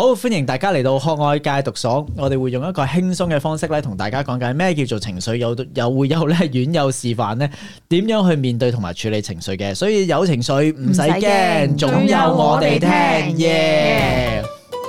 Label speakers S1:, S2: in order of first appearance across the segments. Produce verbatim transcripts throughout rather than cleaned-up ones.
S1: 好，歡迎大家嚟到學愛戒毒所，我哋會用一個輕鬆嘅方式咧，同大家講解咩叫做情緒，有有會有咧院友示範咧點樣去面對同埋處理情緒嘅，所以有情緒唔使驚，總有我哋聽，耶！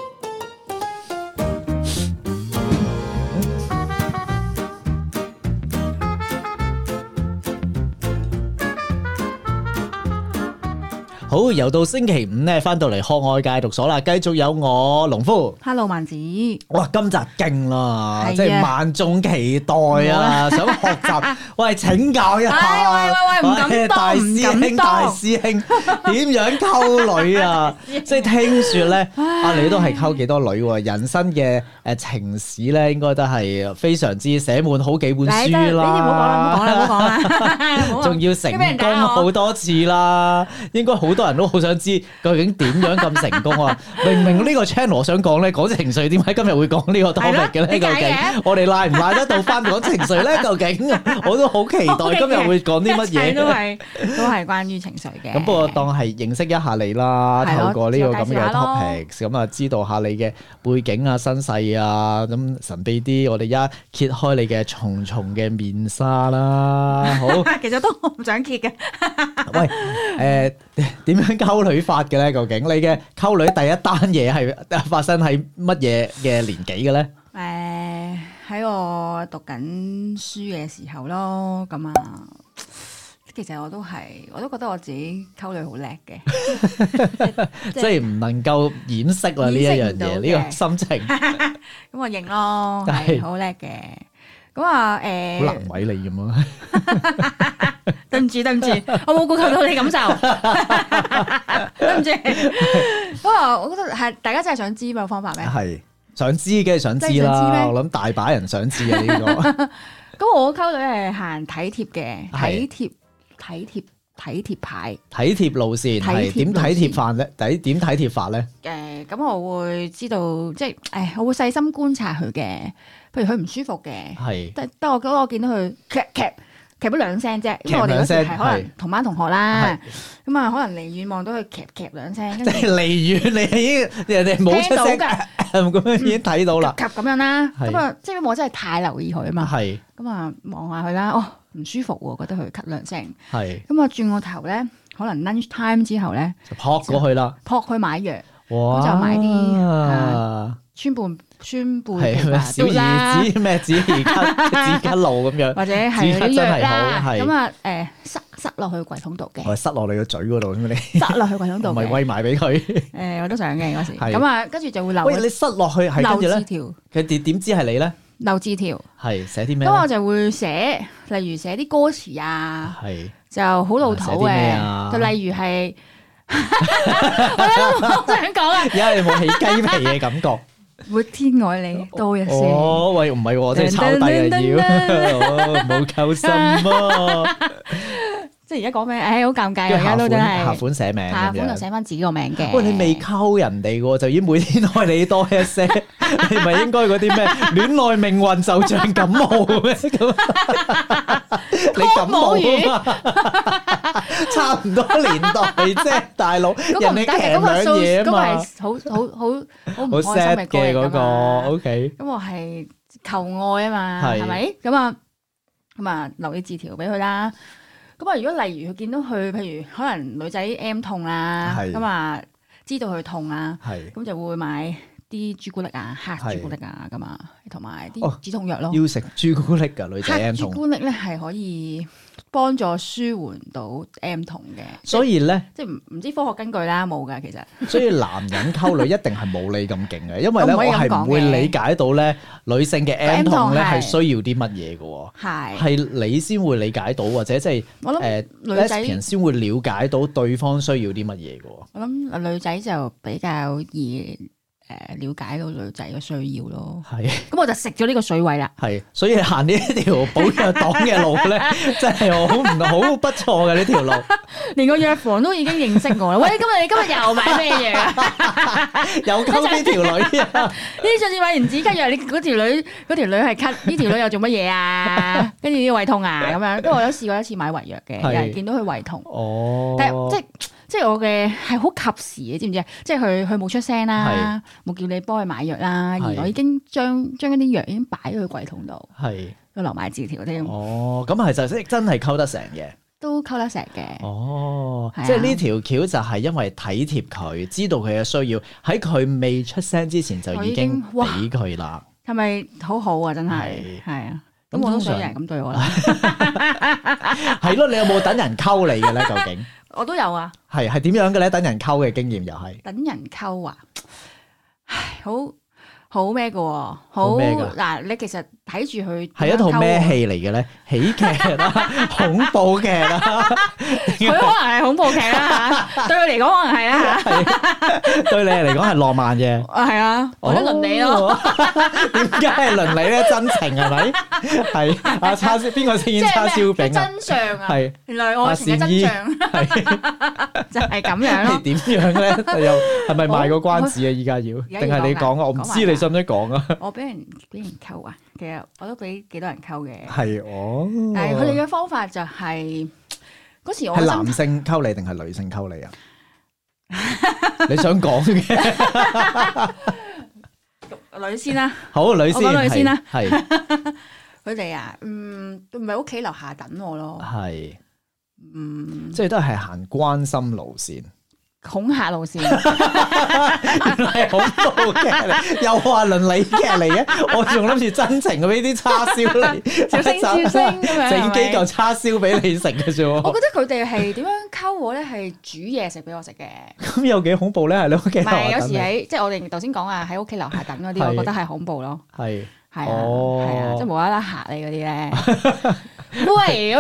S1: 好，又到星期五咧，翻到嚟學愛戒毒所啦，繼續有我農夫
S2: ，Hello 萬子，
S1: 哇，今集勁啦，
S2: 係啊
S1: 即係萬眾期待啊，想學習，喂，請教一下，
S2: 喂喂喂，唔敢當，
S1: 大師兄大師兄點樣溝女啊？即係聽說咧，啊你都係溝幾多女喎？人生嘅誒情史咧，應該都係非常之寫滿好幾本書啦。
S2: 呢啲唔好講啦，唔好講啦，唔好講啦，
S1: 仲要成功好多次啦，應該好多人都好想知究竟點樣咁成功啊！明明呢個 channel 我想講咧講情緒，點解今日會講呢個 topic 嘅咧？究竟我哋賴唔賴得到翻講情緒咧？究竟我都好期待今日會講啲乜嘢？
S2: 都係都係關於情緒嘅。
S1: 咁不過當係認識一下你啦，透過呢個咁嘅 topic，咁啊知道下你嘅背景啊、身世啊，咁神秘啲，我哋一揭開你嘅重重嘅面紗啦。好，
S2: 其實都唔想揭嘅。
S1: 喂，誒點樣溝女法嘅咧？究竟你嘅溝女第一單嘢係發生喺乜嘢嘅年紀嘅咧？
S2: 誒喺我讀緊書嘅時候咯，咁啊，其實我都係，我都覺得我自己溝女好叻嘅，
S1: 即係唔能夠掩飾啦呢一樣嘢，呢個心情。
S2: 咁我認咯，係好叻嘅。咁啊誒，
S1: 好難為你咁啊！
S2: 對唔住對唔住，我冇顧及到你感受，對唔住。不過我覺得係大家真係想知個方法咩？
S1: 係想知嘅想知啦，我諗大把人想知啊呢個。
S2: 咁我溝女係行體貼嘅，體貼體貼體貼牌，
S1: 體貼路線係點體貼法咧？點點體貼法咧？
S2: 誒，咁我會知道，即係誒，我會細心觀察佢嘅，譬如佢唔舒服嘅，
S1: 係
S2: 得得我我見到佢劇劇。夾咗兩聲啫，因為我哋嗰時係可能同班同學啦，咁啊可能離遠望到佢夾夾兩聲，
S1: 即係離遠你已經人哋冇出聲㗎，咁樣已經睇到啦，
S2: 夾咁樣啦，咁啊即係我真係太留意佢啊嘛，
S1: 係咁
S2: 啊望下佢啦，哦唔舒服喎，覺得佢咳兩聲，
S1: 係
S2: 咁啊轉個頭咧，可能 lunch time 之後咧
S1: 就撲過去啦，
S2: 撲去買藥，
S1: 哇，
S2: 就買啲川貝。宣布
S1: 小兒子咩止咳止咳露咁樣，
S2: 或者係啲藥啦，咁啊誒塞塞落去櫃桶度嘅，
S1: 我塞落你個嘴嗰度咁你
S2: 塞落去櫃桶度，
S1: 唔係餵埋俾佢。
S2: 誒我都想嘅嗰時，咁啊跟住就會留。
S1: 喂，你塞落去係跟住咧？
S2: 留字條，
S1: 佢點點知係你咧？
S2: 留字條
S1: 係寫啲咩？
S2: 咁我就會寫，例如寫啲歌詞啊，
S1: 係
S2: 就好老土嘅，就例如係，我都好想講啊！
S1: 而家你有冇起雞皮嘅感覺？
S2: 會天愛你多一些。
S1: 哦，喂，唔係喎，即係抄低啊要，冇夠心喎。
S2: 即係而家講咩？誒，好尷尬，而家都真係。
S1: 下款寫名，
S2: 下款就寫翻自己個名嘅。
S1: 喂，你未溝人哋喎，就已經每天愛你多一些，你咪應該嗰啲咩戀愛命運就像感冒咩咁？你感冒啊嘛，差唔多年代啫，大佬。人哋騎兩嘢啊嘛。
S2: 嗰個係好好好好唔開心嘅
S1: 嘅嗰個 ，OK。
S2: 咁我係求愛啊嘛，係咪？咁啊咁啊，留啲字條俾佢啦。咁啊，如果例如佢見到佢，譬如可能女仔 M 痛啦，咁啊知道佢痛啦，咁就會買啲朱古力啊，黑朱古力啊，咁啊，同埋啲止痛藥咯。
S1: 要食朱古力㗎，女仔 M 痛。
S2: 黑朱古力咧係可以幫助舒緩到 M 痛嘅，
S1: 所以咧，
S2: 即係唔唔知科學根據啦，冇㗎其實。
S1: 所以男人溝女一定係冇你咁勁嘅，因為咧我係唔會理解到咧女性嘅 M 痛咧係需要啲乜嘢嘅，係係你先會理解到，或者即係誒女仔先會了解到對方需要啲乜嘢嘅。
S2: 我諗女仔就比較易。誒，了解到女仔嘅需要咯，係，咁我就食咗呢個水位啦，
S1: 係，所以行呢一條保藥黨嘅路咧，真係好唔好不錯嘅呢條路，
S2: 連個藥房都已經認識我啦。喂，今日你今日又買咩藥啊？
S1: 又溝呢條女啊？
S2: 呢上次買完止咳藥，你嗰條女嗰條女係咳，呢條女又做乜嘢啊？跟住呢個胃痛啊咁樣，因為我有試過一次買胃藥嘅，又係見到佢胃痛，哦，但係即係。 即係我嘅係好及時嘅，知唔知啊？即係佢佢冇出聲啦，冇叫你幫佢買藥啦，而我已經將將一啲藥已經擺咗喺櫃桶度，
S1: 係
S2: 都留埋字條添。
S1: 哦，咁係就真係溝得成嘅。
S2: 都溝得成嘅，
S1: 哦，啊、即係呢條橋就係因為體貼佢，知道佢嘅需要，喺佢未出聲之前就已經俾佢啦。
S2: 係咪好好啊？真係係啊，咁我都想有人咁對我啦。
S1: 係咯，你有冇等人溝你嘅咧？究竟
S2: 我都有啊。
S1: 係係點樣嘅咧？等人溝嘅經驗又係
S2: 等人溝啊！唉，好好咩嘅喎，好嗱，你其實睇住佢
S1: 係一套咩戲嚟嘅咧？喜劇啦，恐怖劇啦，
S2: 佢可能係恐怖劇啦嚇，對佢嚟講可能係啦嚇，
S1: 對你嚟講係浪漫嘅，
S2: 係啊，或者倫理咯。
S1: 點解係倫理咧？真情係咪？係阿叉燒邊個飾演叉燒餅啊？
S2: 真相啊！
S1: 係
S2: 原來愛情嘅真相就係咁樣咯。
S1: 點樣咧？又係咪賣個關子啊？依家要定係你講啊？我唔知你使唔使講啊？
S2: 我俾人俾人溝啊！其實我都俾幾多人溝嘅。
S1: 係哦。
S2: 但係佢哋嘅方法就係嗰時我
S1: 係男性溝你定係女性溝你啊？你想講嘅
S2: 女先啦。
S1: 好，女先。
S2: 我講女先啦。
S1: 係。
S2: 佢哋啊，嗯，唔係屋企樓下等我咯。
S1: 係。
S2: 嗯。
S1: 即係都係行關心路線。
S2: 恐嚇路線，
S1: 原來係恐怖劇嚟，又話倫理劇嚟嘅，我仲諗住真情嘅俾啲叉燒嚟，
S2: 笑聲笑聲咁樣，
S1: 整幾嚿叉燒俾你食嘅啫。
S2: 我覺得佢哋係點樣溝我咧？係煮嘢食俾我食嘅。
S1: 咁有幾恐怖咧？係你屋企樓下等？唔係，
S2: 有時喺即係我哋頭先講啊，喺屋企樓下等嗰啲，我覺得係恐怖咯。
S1: 係
S2: 係啊，係啊，即係無啦啦嚇你嗰啲咧。喂，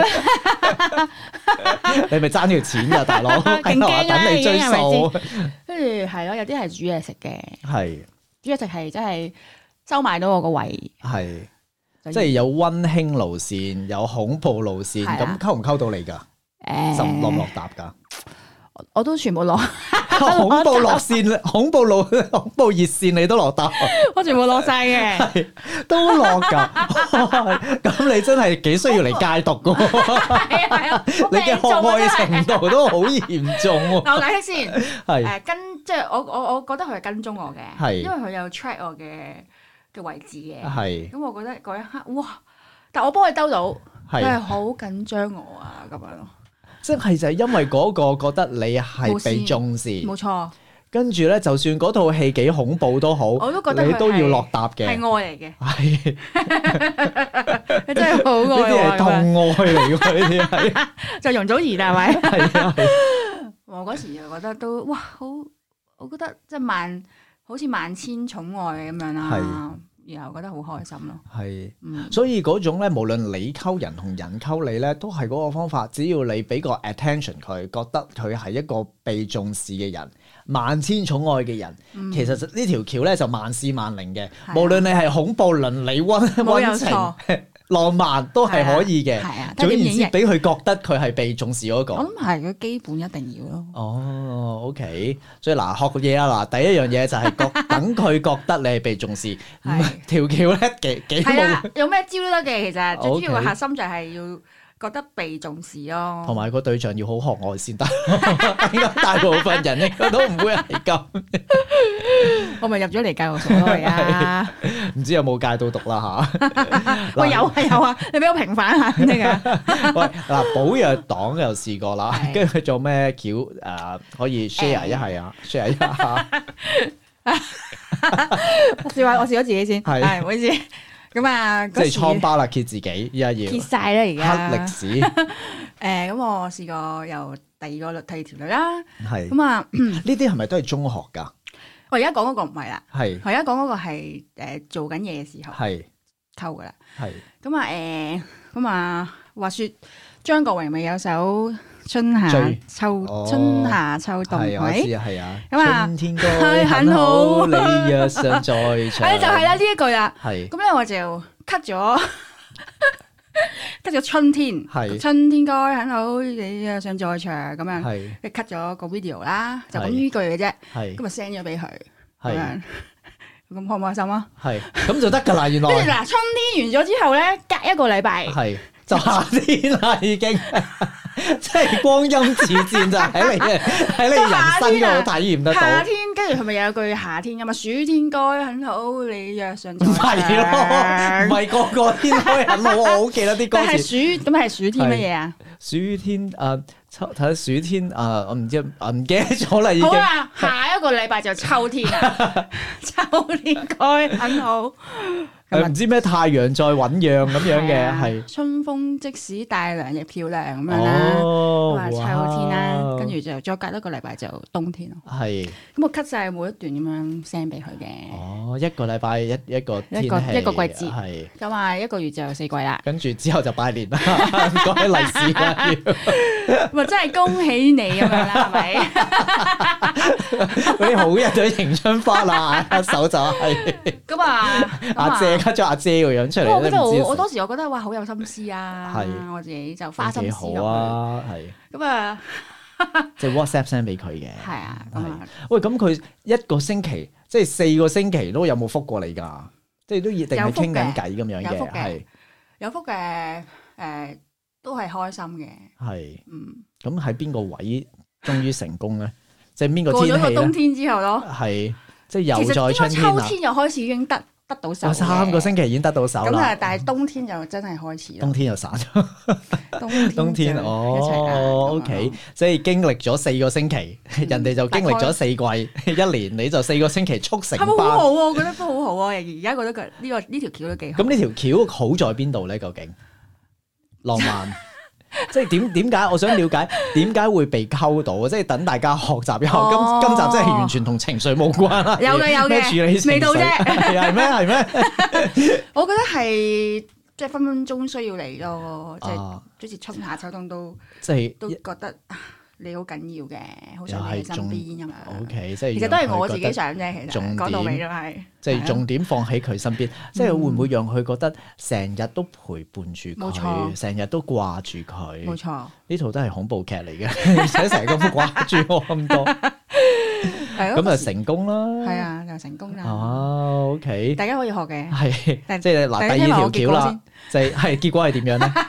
S1: 你咪爭條錢㗎，大佬，喺樓下等你追數。
S2: 跟住係咯，有啲係煮嘢食嘅，
S1: 係
S2: 煮嘢食係真係收埋到我個胃，
S1: 係即係有溫馨路線，有恐怖路線，咁溝唔溝到你㗎？誒，落唔落搭㗎？
S2: 我都全部落。
S1: 恐怖落線，恐怖路，恐怖熱線你都落搭，
S2: 我全部落晒嘅，
S1: 都落噶。咁你真係幾需要嚟戒毒噶？
S2: 係啊係啊，
S1: 你嘅渴愛程度都好嚴重。
S2: 我解釋先，
S1: 係
S2: 誒跟，即係我我我覺得佢係跟蹤我嘅，
S1: 係
S2: 因為佢有 track 我嘅嘅位置嘅，
S1: 係。
S2: 咁我覺得嗰一刻，哇！但我幫佢兜到，
S1: 係
S2: 佢係好緊張我啊，咁樣咯。
S1: 即係就係因為嗰個覺得你係被重視，
S2: 冇錯。
S1: 跟住咧，就算嗰套戲幾恐怖都好，
S2: 我都覺得
S1: 你都要落搭嘅，
S2: 係愛嚟嘅。
S1: 係，
S2: 你真係好愛我。
S1: 呢啲係痛愛嚟㗎，呢啲係。
S2: 就容祖兒係咪？
S1: 係啊。
S2: 我嗰時就覺得都哇好，我覺得即係萬好似萬千寵愛咁樣啦。然後覺得好開心咯，
S1: 係，嗯、所以嗰種咧，無論你溝人同人溝你咧，都係嗰個方法。只要你俾個 attention 佢，覺得佢係一個被重視嘅人，萬千寵愛嘅人，嗯、其實呢條橋咧就萬試萬靈嘅。啊、無論你係恐怖、倫理、溫溫情、浪漫都係可以嘅。
S2: 係啊，
S1: 總言之，俾佢覺得佢係被重視嗰、那個。
S2: 我諗係佢基本一定要咯。
S1: 哦 ，OK， 所以嗱，學嘅嘢啦，嗱，第一樣嘢就係覺等佢覺得你係被重視。條橋咧幾幾
S2: 係啦，有咩招都得嘅，其實最主要個核心就係要覺得被重視咯。
S1: 同埋個對象要好可愛先得，應該大部分人應該都唔會係咁。
S2: 我咪入咗嚟戒毒所咯而家，
S1: 唔知有冇戒到毒啦吓？
S2: 喂，有啊有啊，你俾我平反下先得噶。
S1: 喂，嗱，寶藥黨又試過啦，跟住佢做咩橋誒可以 share 一係啊 share 一下。
S2: 我試下，我試咗自己先，係唔好意思。咁啊，
S1: 即係瘡疤啦，揭自己，依家要
S2: 揭晒啦，而家
S1: 黑歷史。
S2: 誒，咁我試過由第二個第二條女啦，
S1: 係
S2: 咁啊，
S1: 呢啲係咪都係中學噶？
S2: 我而家講嗰個唔係啦，
S1: 係
S2: 我而家講嗰個係誒做緊嘢嘅時候係溝噶啦，係咁啊，誒，咁啊，話說張國榮咪有首春夏秋春夏秋冬，
S1: 係我知啊，係啊，
S2: 咁啊，
S1: 春天該很好，你若想再唱，
S2: 誒就係啦呢一句啦，
S1: 係，
S2: 咁咧我就 cut 咗 cut 咗春天，係春天該很好，你若想再唱咁樣，係，即係 cut 咗個 video 啦，就咁呢句嘅啫，係，咁啊 send 咗俾佢，咁樣，咁開唔開心啊？係，咁就得噶啦，原來，跟住嗱春天完咗之後咧，隔一個禮拜，係。就夏天啦，已經
S1: 即係光陰似箭就喺你嘅喺你人生嗰度體驗得到。
S2: 夏天跟住係咪有句夏天㗎嘛？暑天該很好，你若尚在。
S1: 唔係咯，唔係個個天該很好，我好記得啲歌詞。
S2: 但係暑咁係暑天乜嘢啊？
S1: 暑天誒，秋睇下暑天誒，我唔知唔記得咗啦已經。
S2: 好啦，下一個禮拜就秋天啦，秋天該很好。
S1: 誒唔知咩太陽在醞釀咁樣嘅係。
S2: 春風即使帶涼亦漂亮咁樣啦。
S1: 哦，
S2: 話秋天啦，跟住就再隔一個禮拜就冬天咯。
S1: 係。
S2: 咁我 cut 晒每一段咁樣 send 俾佢嘅。
S1: 哦，一個禮拜一一個天氣
S2: 一個一個季節
S1: 係。
S2: 咁啊，一個月就有四季啦。
S1: 跟住之後就拜年啦，講起利是啦要。
S2: 咪真係恭喜你咁樣啦，係咪？
S1: 嗰啲好人都迎春花啦，一手就係。
S2: 咁啊，
S1: 阿姐 cut 咗阿姐個樣出嚟。
S2: 我覺得我我當時我覺得哇，好有心思啊！
S1: 係，
S2: 我自己就花心思落去。
S1: 好啊，係。
S2: 咁啊，
S1: 即係 WhatsApp send 俾佢嘅。
S2: 係啊，咁啊。
S1: 喂，咁佢一個星期，即係四個星期都有冇覆過你㗎？即係都一定係傾緊偈咁樣嘅，係。
S2: 有覆嘅，誒，都係開心嘅。
S1: 係。
S2: 嗯。
S1: 咁喺邊個位終於成功咧？即係邊個天氣咧？
S2: 過咗個冬天之後咯。
S1: 係，即係又在春天啦。
S2: 秋天又開始已經得得到手。
S1: 三個星期已經得到手啦。
S2: 咁啊，但係冬天就真係開始啦。
S1: 冬天又散咗。
S2: 冬天。
S1: 冬天哦 ，OK，即係經歷咗四個星期，人哋就經歷咗四季，一年你就四個星期速成班。
S2: 係咪好好啊？我覺得都好好啊！而家覺得佢呢個呢條橋都幾好。
S1: 咁呢條橋好在邊度咧？究竟浪漫？即係點點解？我想了解點解會被溝到？即係等大家學習一下。
S2: 哦、
S1: 今今集真係完全同情緒冇關啦。
S2: 有嘅有嘅，
S1: 咩處理情緒
S2: 未到啫。
S1: 係咩係咩？
S2: 我覺得係即係分分鐘需要嚟咯。即係
S1: 啊，
S2: 好似春夏秋冬都
S1: 即係
S2: 都覺得你好緊要嘅，好想你喺身邊咁樣。
S1: O K， 即係
S2: 其實都係我自己想啫。其實講到尾都係
S1: 即係重點放喺佢身邊，即係會唔會讓佢覺得成日都陪伴住佢，成日都掛住佢？
S2: 冇錯，
S1: 呢套都係恐怖劇嚟嘅，而且成日咁掛住我咁多，咁就成功啦。
S2: 係啊，就成功啦。
S1: 哦，O K，
S2: 大家可以學嘅。
S1: 係，即係嗱，第二條橋啦，就係係結果係點樣咧？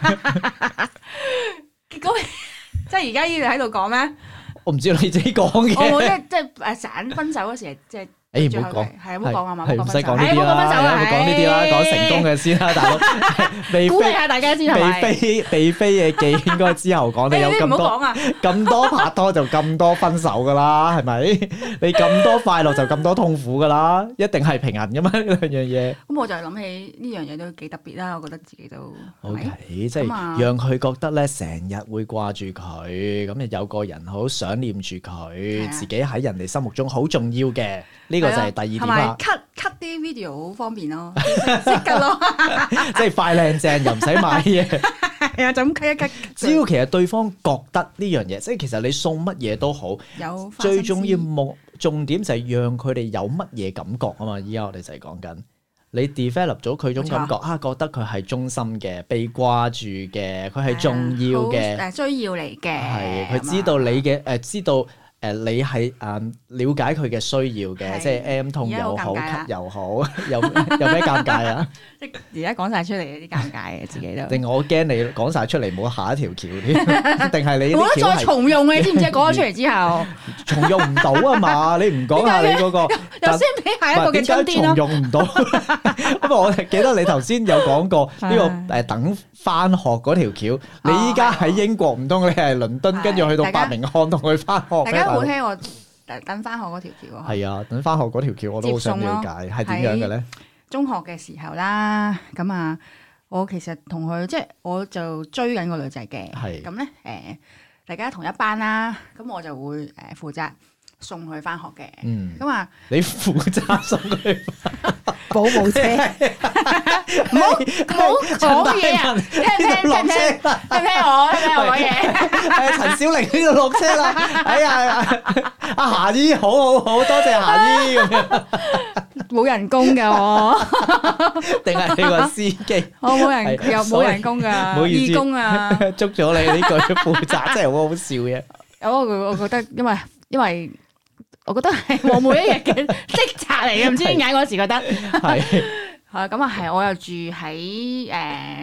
S2: 結果。即係而家依度喺度講咩？
S1: 我唔知你自己講嘅。
S2: 我即係即係誒散分手嗰時，即係
S1: 誒唔好講，
S2: 係唔好講啊嘛，
S1: 唔使講呢啲啦，唔好講呢啲啦，講成功嘅先啦，大佬。
S2: 鼓勵下大家先係咪？
S1: 被飛被飛嘅記應該之後講，你有咁多咁多拍拖就咁多分手噶啦，係咪？你咁多快樂就咁多痛苦噶啦，一定係平衡噶嘛呢兩樣嘢。
S2: 咁我就諗起呢樣嘢都幾特別啦，我覺得自己都
S1: OK，即係讓佢覺得咧成日會掛住佢，咁有個人好想念住佢，自己喺人哋心目中好重要嘅。呢個就係第二點啦。
S2: cut cut 啲 video 好方便咯，識㗎咯，
S1: 即係快靚正又唔使買嘢。
S2: 係啊，就咁 cut 一 cut。
S1: 只要其實對方覺得呢樣嘢，即係其實你送乜嘢都好，
S2: 有
S1: 最重要目重點就係讓佢哋有乜嘢感覺啊嘛！依家我哋就係講緊你 develop 咗佢種感覺啊，覺得佢係忠心嘅、被掛住嘅，佢係重要嘅，
S2: 誒需要嚟嘅。
S1: 係佢知道你嘅誒知道。誒你係誒瞭解佢嘅需要嘅，即係 M 痛又好，咳又好，有有咩尷尬啊？
S2: 即係而家講晒出嚟有啲尷尬嘅，自己都。
S1: 定我驚你講晒出嚟冇下一條橋添，定係你？
S2: 冇得再重用嘅，你知唔知？講咗出嚟之後，
S1: 重用唔到啊嘛！你唔講下你嗰個，
S2: 又先俾下一個嘅春天咯。
S1: 重用唔到，不過我記得你頭先有講過呢個誒等翻學嗰條橋，你依家喺英國，唔通你係倫敦，跟住去到伯明翰同佢翻學？
S2: 好聽我等翻學嗰條橋啊！
S1: 係啊，等翻學嗰條橋我都好想了解，係點樣嘅咧？
S2: 中學嘅時候啦，咁啊，我其實同佢即係我就追緊個女仔嘅，係咁咧誒，大家同一班啦，咁我就會誒負責送佢翻學嘅，嗯，咁啊，
S1: 你負責送佢
S2: 保姆車，唔好唔好講嘢啊！聽唔聽？聽唔聽？聽唔聽我？聽唔聽我講嘢？
S1: 係陳小玲呢度落車啦！哎呀，阿霞姨好好好，多謝霞姨咁樣。
S2: 冇人工㗎我，
S1: 定係你個司機？
S2: 我冇人又冇人工㗎，
S1: 唔好意思，
S2: 義工啊！
S1: 捉咗你呢句負責，真係好好笑嘅。
S2: 我我覺得因為因為。我覺得係我每一日嘅職責嚟嘅，唔知點解嗰時覺得係係咁啊，係我又住喺誒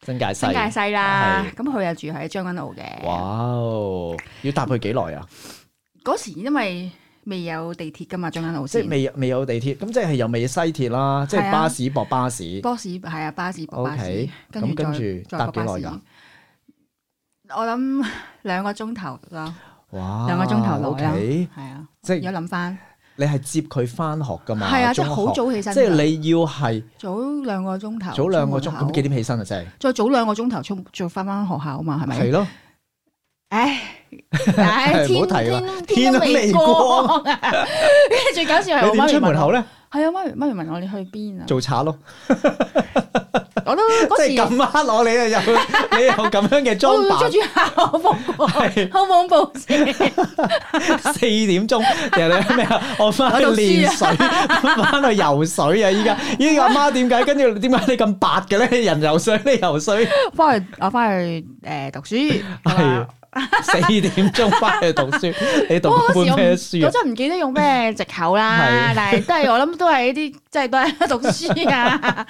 S1: 新界西，
S2: 新界西啦。咁佢又住喺將軍澳嘅。
S1: 哇！要搭佢幾耐啊？
S2: 嗰時因為未有地鐵噶嘛，將軍澳
S1: 即係未未有地鐵，咁即係又未西鐵啦，即係巴士駁巴士。
S2: 巴士係啊，巴士駁巴士。
S1: OK，咁跟住搭幾耐㗎？
S2: 我諗兩個鐘頭啦。
S1: 哇！
S2: 兩個鐘頭內啦，
S1: 係
S2: 啊，
S1: 即係
S2: 有諗翻。
S1: 你係接佢翻學㗎嘛？
S2: 係啊，即係好早起身。
S1: 即係你要係
S2: 早兩個鐘頭。
S1: 早兩個鐘，咁幾點起身啊？真係
S2: 再早兩個鐘頭出再翻翻學校啊嘛，係咪？
S1: 係咯。
S2: 唉，唉，
S1: 唔好提啦，
S2: 天都未光啊！跟住最搞笑係我媽咪
S1: 出門口咧，
S2: 係啊，媽咪媽咪問我你去邊啊？
S1: 做賊咯，
S2: 我都嗰時
S1: 即係咁啱攞你啊，有你有咁樣嘅裝扮，
S2: 着住校服，好恐怖先。
S1: 四點鐘，人哋咩啊？我翻去練水，翻去游水啊！依家依家阿媽點解？跟住點解你咁白嘅咧？人游水，你游水。
S2: 翻去我翻去誒讀書。係。
S1: 四點鐘翻去讀書，你讀本咩書？
S2: 我真係唔記得用咩藉口啦，但係都係我諗都係呢啲，即係都係讀書啊，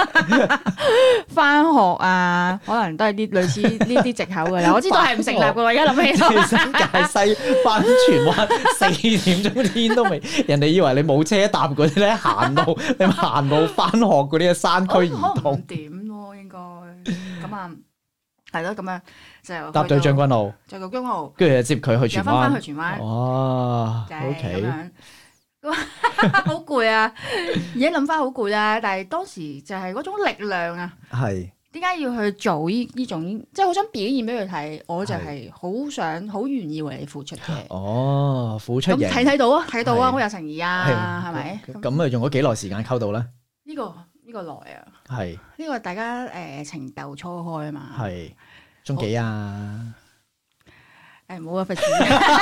S2: 翻學啊，可能都係啲類似呢啲藉口噶啦。我知道係唔成立噶，而家諗起
S1: 新界西翻荃灣四點鐘天都未，人哋以為你冇車搭嗰啲咧，行路你行路翻學嗰啲山區移動
S2: 點咯，應該咁啊。係咯，咁樣就
S1: 搭對將軍澳，
S2: 就到將軍澳，
S1: 跟住就接佢去荃灣，
S2: 翻返去荃灣。
S1: 哇，O K，
S2: 好攰啊！而家諗翻好攰啊，但係當時就係嗰種力量啊。
S1: 係
S2: 點解要去做呢呢種？即係好想表現俾佢睇，我就係好想、好願意為你付出嘅。
S1: 哦，付出型，
S2: 睇睇到啊，睇到啊，好有誠意啊，係咪？
S1: 咁啊，用咗幾耐時間溝到咧？
S2: 呢個呢個耐啊，
S1: 係
S2: 呢個大家誒情竇初開啊嘛。係
S1: 中幾啊？
S2: 誒唔好啊，費事。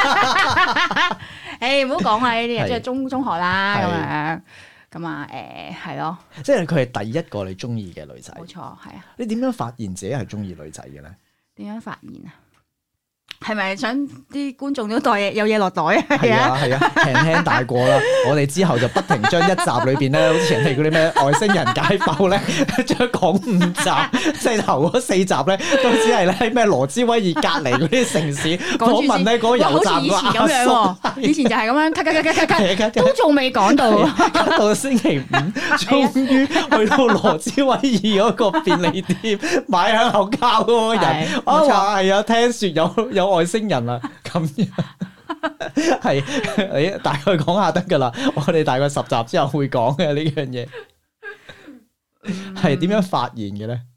S2: 誒唔好講啊呢啲嘢，即係中中學啦咁樣。咁啊誒係咯。
S1: 即係佢係第一個你中意嘅女仔。
S2: 冇錯，係啊。
S1: 你點樣發現自己係中意女仔嘅咧？
S2: 點樣發現啊？係咪想啲觀眾都袋嘢有嘢落袋啊？
S1: 係啊係啊，輕輕帶過啦。我哋之後就不停將一集裏邊咧，好似人哋嗰啲咩外星人解剖咧，將講五集，即係頭嗰四集咧，都只係咧咩羅茲威爾隔離嗰啲城市訪問咧嗰個油站個阿叔。
S2: 以前就係咁樣，咳咳咳咳咳，都仲未講到。
S1: 到星期五，終於去到羅茲威爾嗰個便利店買香口膠嗰個人，我話係啊，聽説有有。外星人啊，咁樣係你大概講下得噶啦，我哋大概十集之後會講嘅呢樣嘢，係點樣發現嘅咧？